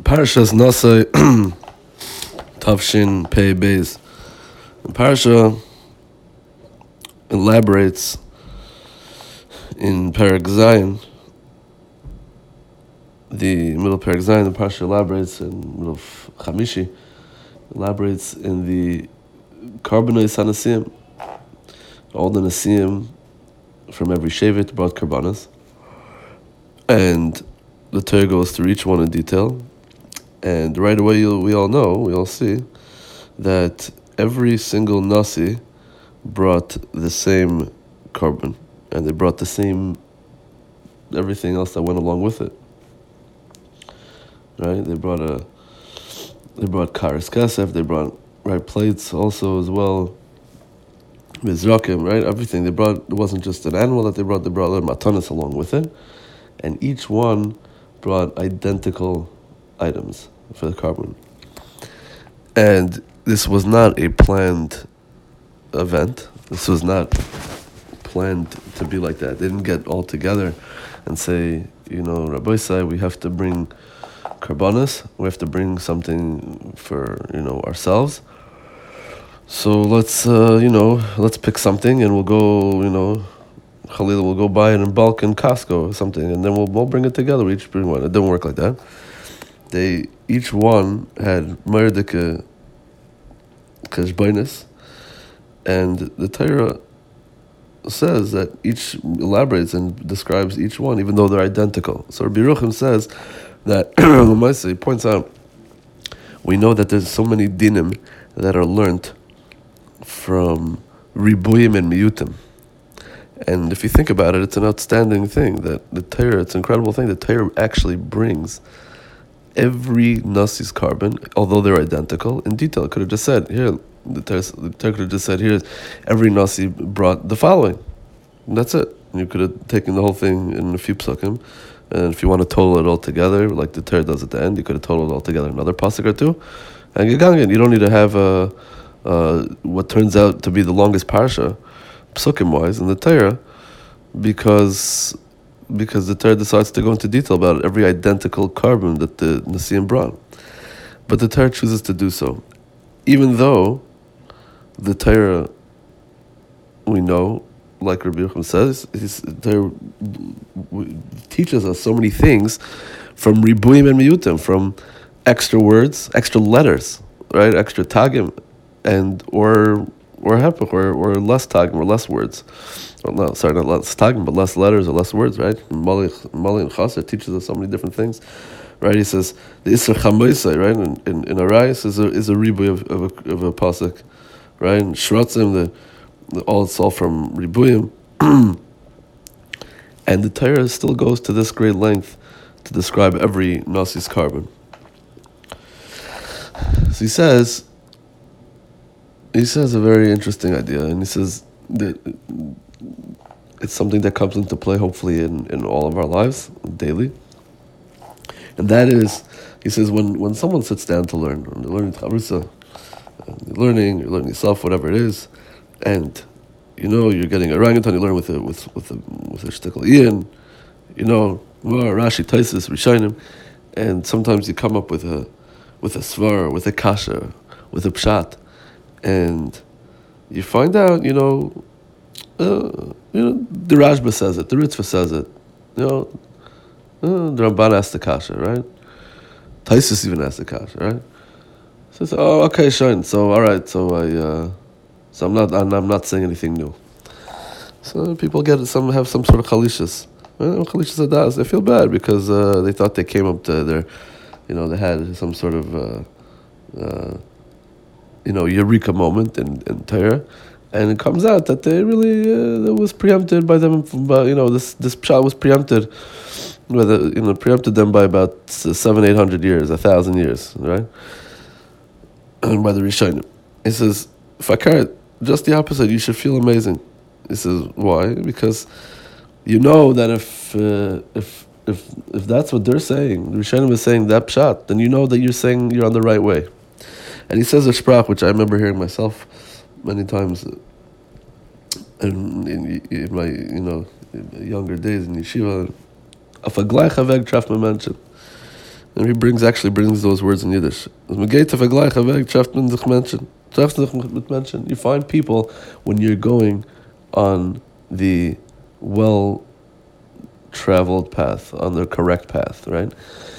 Parashas Nasa Tavshin Pei Beis. The parasha elaborates in Perek Zayin, the middle of Perek Zayin. The parasha elaborates in the middle of Chamishi, elaborates in the Karbanoi Sanasiim. All the Nasiim from every Shevet brought Karbanos, and the Torah goes through each one in detail. And right away we all see that every single Nasi brought the same carbon, and they brought the same everything else that went along with it. Right? They brought kares kesef, they brought plates also as well. Mizrakim, right? Everything they brought. It wasn't just an animal that they brought their matanis along with it, and each one brought identical items for the carbon. And this was not a planned event. This was not planned to be like that. They didn't get all together and say, Rabbi Isai, we have to bring karbanos, we have to bring something for, ourselves. So let's pick something and we'll go, Khalil will go buy it in bulk in Costco or something, and then we'll bring it together. We each bring one. It didn't work like that. Each one had merdike kashbainis, and the Torah says that each elaborates and describes each one, even though they're identical. So Rabbi Yeruchim says that he points out, we know that there's so many dinim that are learnt from ribuyim and miyutim. And if you think about it, it's an outstanding thing that the Torah, it's an incredible thing. The Torah actually brings every Nasi's carbon, although they're identical, in detail. It could have just said, here, the Torah could have just said, here, every Nasi brought the following. And that's it. You could have taken the whole thing in a few psukim, and if you want to total it all together, like the Torah does at the end, you could have totaled it all together another pasuk or two, and you don't need to have what turns out to be the longest parasha, psukim-wise, in the Torah, because the Torah decides to go into detail about every identical carbon that the Nasiim brought. But the Torah chooses to do so. Even though the Torah, we know, like Rabbi Yeruchim says, the Torah teaches us so many things from ribuyim and miyutim, from extra words, extra letters, right? Extra tagim, and or hepech, or less tagim, or less words. Not less tagim, but less letters or less words, right? Mali and Chaser teaches us so many different things, right? He says the Isser Chamoisai, right? In Arayis is a ribuy of a pasuk, right? And Shratzim, it's all from ribuyim, and the Torah still goes to this great length to describe every Nasi's carbon. So he says a very interesting idea, and he says that it's something that comes into play hopefully in all of our lives daily. And that is, he says, when someone sits down to learn, when they're learning Chavrusa, you're learning yourself, whatever it is, and you're getting a orangutan, you learn with a shtickle Ian, Rashi, Taisus, Rishonim, and sometimes you come up with a svar, with a kasha, with a pshat, and you find out, the Rashba says it, the Ritzvah says it, the Ramban asked the kasha, right? Taisus even asked the kasha, right? Says, oh, okay, Shine. So all right, so I'm not saying anything new. So people have some sort of chalishas. Chalishas adas. They feel bad because they thought they came up to their, they had some sort of eureka moment in Torah, and it comes out that they really that was preempted by them. This pshat was preempted, preempted them by about 700-800 years, 1,000 years, right? And by the Rishonim, he says, Fakar, just the opposite. You should feel amazing. He says, why? Because that if that's what they're saying, the Rishonim is saying that pshat, then that you're saying you're on the right way. And he says a sprach, which I remember hearing myself many times in my younger days in yeshiva. If a gleich haveg traf me mention, And he brings those words in Yiddish. You find people when you're going on the well-traveled path, on the correct path, right?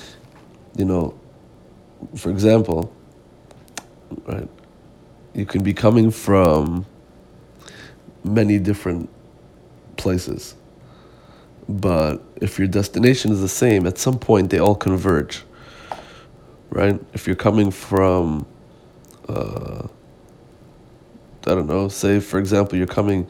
For example, right, you can be coming from many different places, but if your destination is the same, at some point they all converge, right? If you're coming from, I don't know, say for example, you're going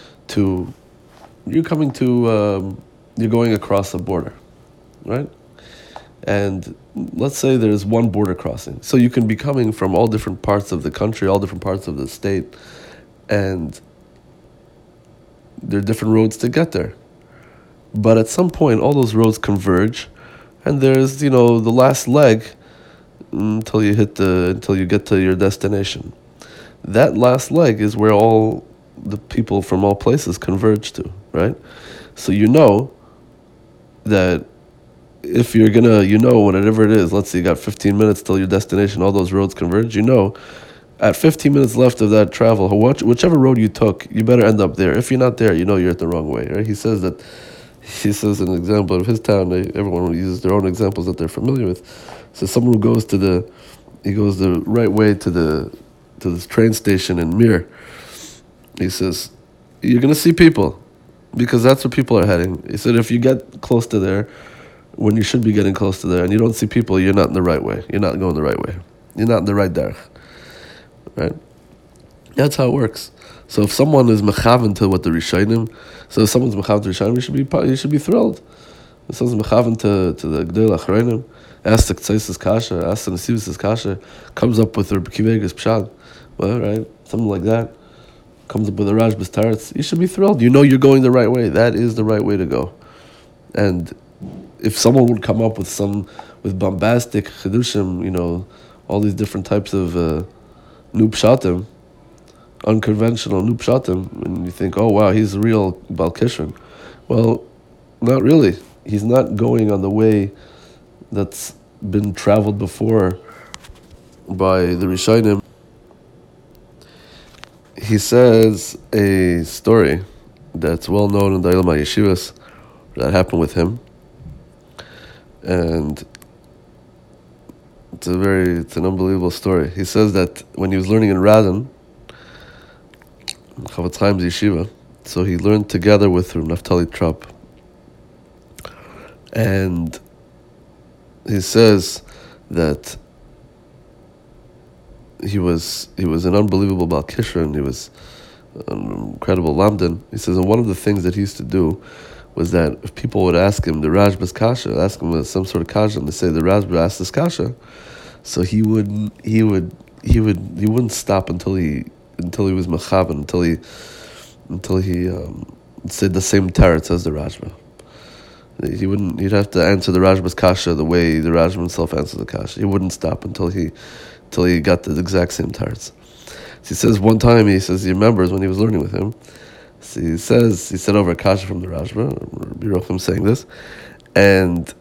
across a border, right? And let's say there's one border crossing. So you can be coming from all different parts of the country, all different parts of the state, and there are different roads to get there. But at some point, all those roads converge, and there's, the last leg until you get to your destination. That last leg is where all the people from all places converge to, right? So you know that if you're gonna, whatever it is, let's say you got 15 minutes till your destination, all those roads converge, at 15 minutes left of that travel, whichever road you took, you better end up there. If you're not there, you're at the wrong way, right? He says an example of his town, everyone uses their own examples that they're familiar with. So someone who goes the right way to this train station in Mir, he says, you're gonna see people, because that's where people are heading. He said, if you get close to there, when you should be getting close to there, and you don't see people, you're not in the right way. You're not going the right way. You're not in the right derech. Right? That's how it works. So if someone is mechaven to what the Rishonim, if someone's mechaven to Rishonim, you should be thrilled. If someone's mechaven to the Gdei Achronim, asks the Ktaisis Kasha, asks the Nesivis Kasha, comes up with the Rebbe Akiva Eiger's Pshat, well, right? Something like that. Comes up with the Rashbas Taretz, you should be thrilled. You're going the right way. That is the right way to go. And if someone would come up with bombastic chidushim, all these different types of new pshatim, unconventional new pshatim, and you think, oh wow, he's a real Baal Kishron. Well, not really. He's not going on the way that's been traveled before by the Rishonim. He says a story that's well known in the Ilma Yeshivas that happened with him. And it's an unbelievable story. He says that when he was learning in Radin, Chofetz Chaim's yeshiva, so he learned together with Naftali Trop. And he says that he was an unbelievable Baal Kishron. He was an incredible Lamdan. He says, and one of the things that he used to do was that if people would ask him the Rashbas Kasha, ask him some sort of Kasha, and they say the Rashba asked this Kasha, so he wouldn't stop until he was mechavan, until he said the same teretz as the Rashba. He'd have to answer the Rashba's Kasha the way the Rashba himself answered the Kasha. He wouldn't stop until he got the exact same teretz. So he says one time, he remembers when he was learning with him. So he said over a kasha from the Rashba, Rabbi Yochanan saying this, and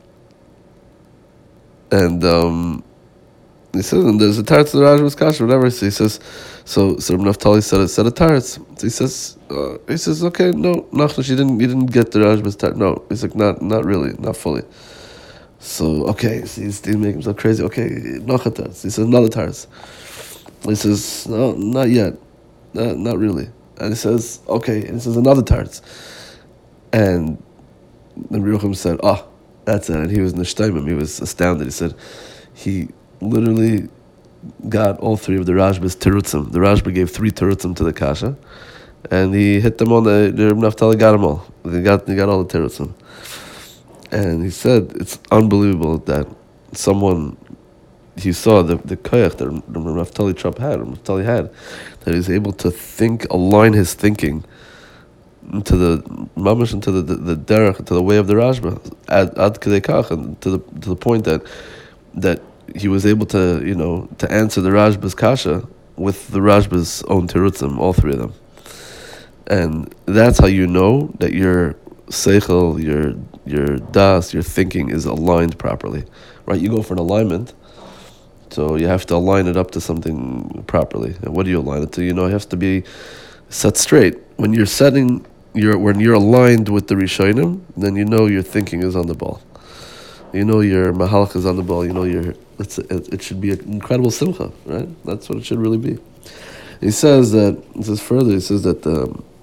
he says, and there's a teretz to the Rashba's kasha, whatever. So he says, so Rabbi Naftali said a teretz. So he says, okay, no, Nachlash, you didn't get the Rashba's teretz. No, he's like, not really, not fully. So okay, so he's making himself crazy. Okay, Nachat teretz. He says another teretz. He says, no, not yet, not really. And he says, okay, and he says another teretz. And then Rabbi Yochanan said, that's it. And he was nishtaimim, he was astounded. He said, he literally got all three of the Rashba's terutzim. The Rashba gave 3 terutzim to the kasha, and he hit them on the Rabbi Naftali got them all. He got all the terutzim. And he said, it's unbelievable that someone, he saw the koyach that Naftali Trop had, that he's able to align his thinking into the mamash, into the derech, into the way of the Rashba, ad kedei kach, and to the point that he was able to answer the Rashba's kasha with the Rashba's own terutzim, all 3 of them. And that's how you know that you're seichel, your das, your thinking is aligned properly, right? You go for an alignment, so you have to align it up to something properly. And what do you align it to? It has to be set straight. When you're when you're aligned with the Rishonim, then your thinking is on the ball. Your mahalach is on the ball. It should be an incredible simcha, right? That's what it should really be. He says further. He says that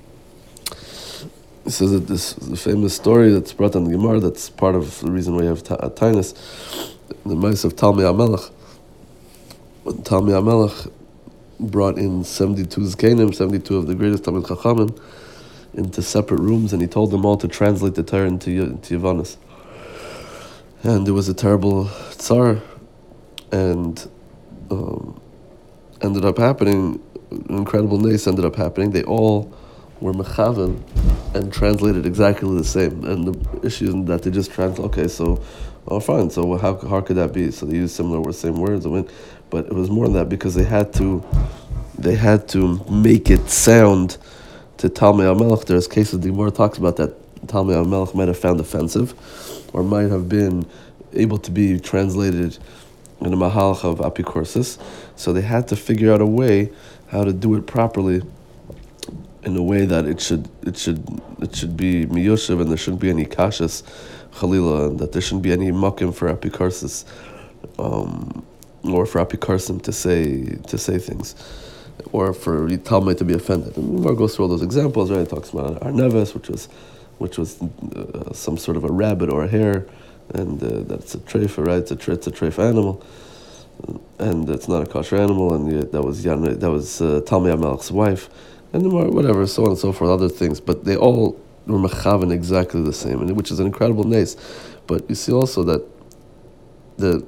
this famous story that's brought on the Gemara, that's part of the reason why you have Tainus, the mice of Talmei HaMelech. When Talmei HaMelech brought in 72 Zkenim, 72 of the greatest Talmid Chachamim, into separate rooms, and he told them all to translate the Torah into Yavanis. And there was a terrible tsar, and ended up happening, an incredible nace ended up happening. They all were mechaven and translated exactly the same. And the issue is that they just translate, okay, so, fine, so how could that be? So they used same words, but it was more than that, because they had to make it sound to Talmei HaMelech. There's cases the Gemara talks about that Talmei HaMelech might have found offensive, or might have been able to be translated in a mahalach of apikorsis. So they had to figure out a way how to do it properly, in a way that it should be miyoshev, and there shouldn't be any kashas chalila, and that there shouldn't be any makim for apikorsis, or for apikorsim to say things, or for Talmud to be offended. And Gemara goes through all those examples, right? It talks about Arneves, which was some sort of a rabbit or a hare, and that's a treifa, right? It's a treifa animal, and it's not a kosher animal, and that was Talmei HaMelech's wife, and whatever, so on and so forth, other things. But they all were mechaven exactly the same, and which is an incredible nace. But you see also that the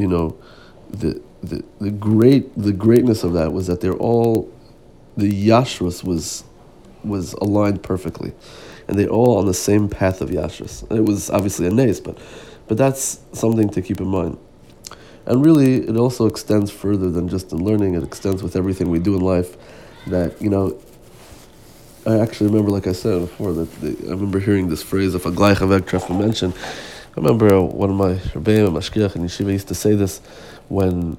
greatness of that was that the yashrus was aligned perfectly, and they all on the same path of yashrus. It was obviously a nace, but that's something to keep in mind. And really, it also extends further than just in learning. It extends with everything we do in life. That I actually remember, like I said before, I remember hearing this phrase, if a gleich avek treffer mentioned. I remember one of my rebbeim, mashgiach in yeshiva, used to say this when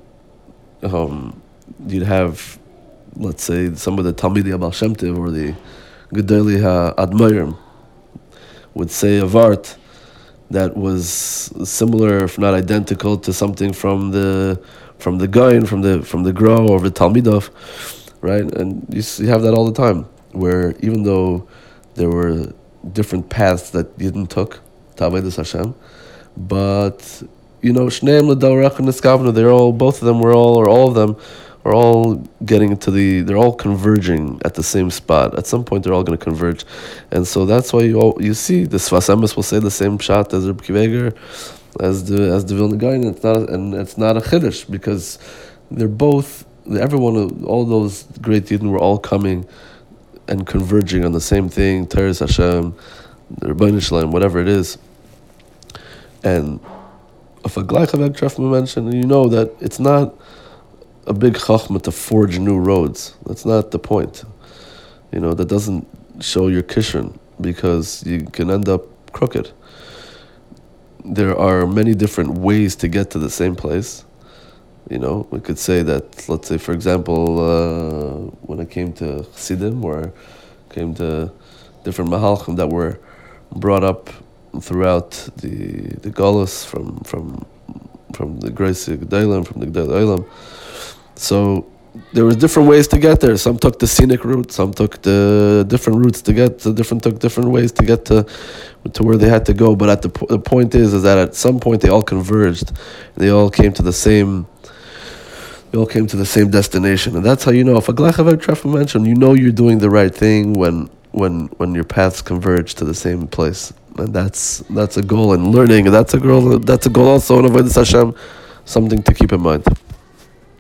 you'd have, let's say, some of the Talmidei Baal Shem Tov or the Gedolei HaAdmairim would say a vart that was similar, if not identical, to something from the Gaon, from the Gra or the Talmidov, right? And you have that all the time, where even though there were different paths that Yidden took to Avodas Hashem, but Shneim L'Dorech and Niskavna, all of them are all getting they're all converging at the same spot. At some point, they're all going to converge, and so that's why you see the Sfas Emes will say the same shot as Reb Akiva Eiger, as the Vilna Gaon. It's not a chiddush, because they're both, everyone, all those great Yidden were all coming and converging on the same thing, Teres Hashem, the Rebbeinu Shalom, whatever it is. And if a gleich avek treffer mentioned, that it's not a big chachma to forge new roads. That's not the point. That doesn't show your kishron, because you can end up crooked. There are many different ways to get to the same place. We could say that, let's say, for example, when it came to Chassidim, or came to different mahalchim that were brought up throughout the Galus from the Grace Gedolim, from the Gedolei Olam. So there were different ways to get there. Some took the scenic route, some took the different routes to get to different ways to get to where they had to go. But the point is that at some point they all converged. They all came to the same destination, and that's how if a gleich avek treffer mentioned, you're doing the right thing when your paths converge to the same place, and that's a goal in learning, and that's a goal also in Avodas Hashem, something to keep in mind.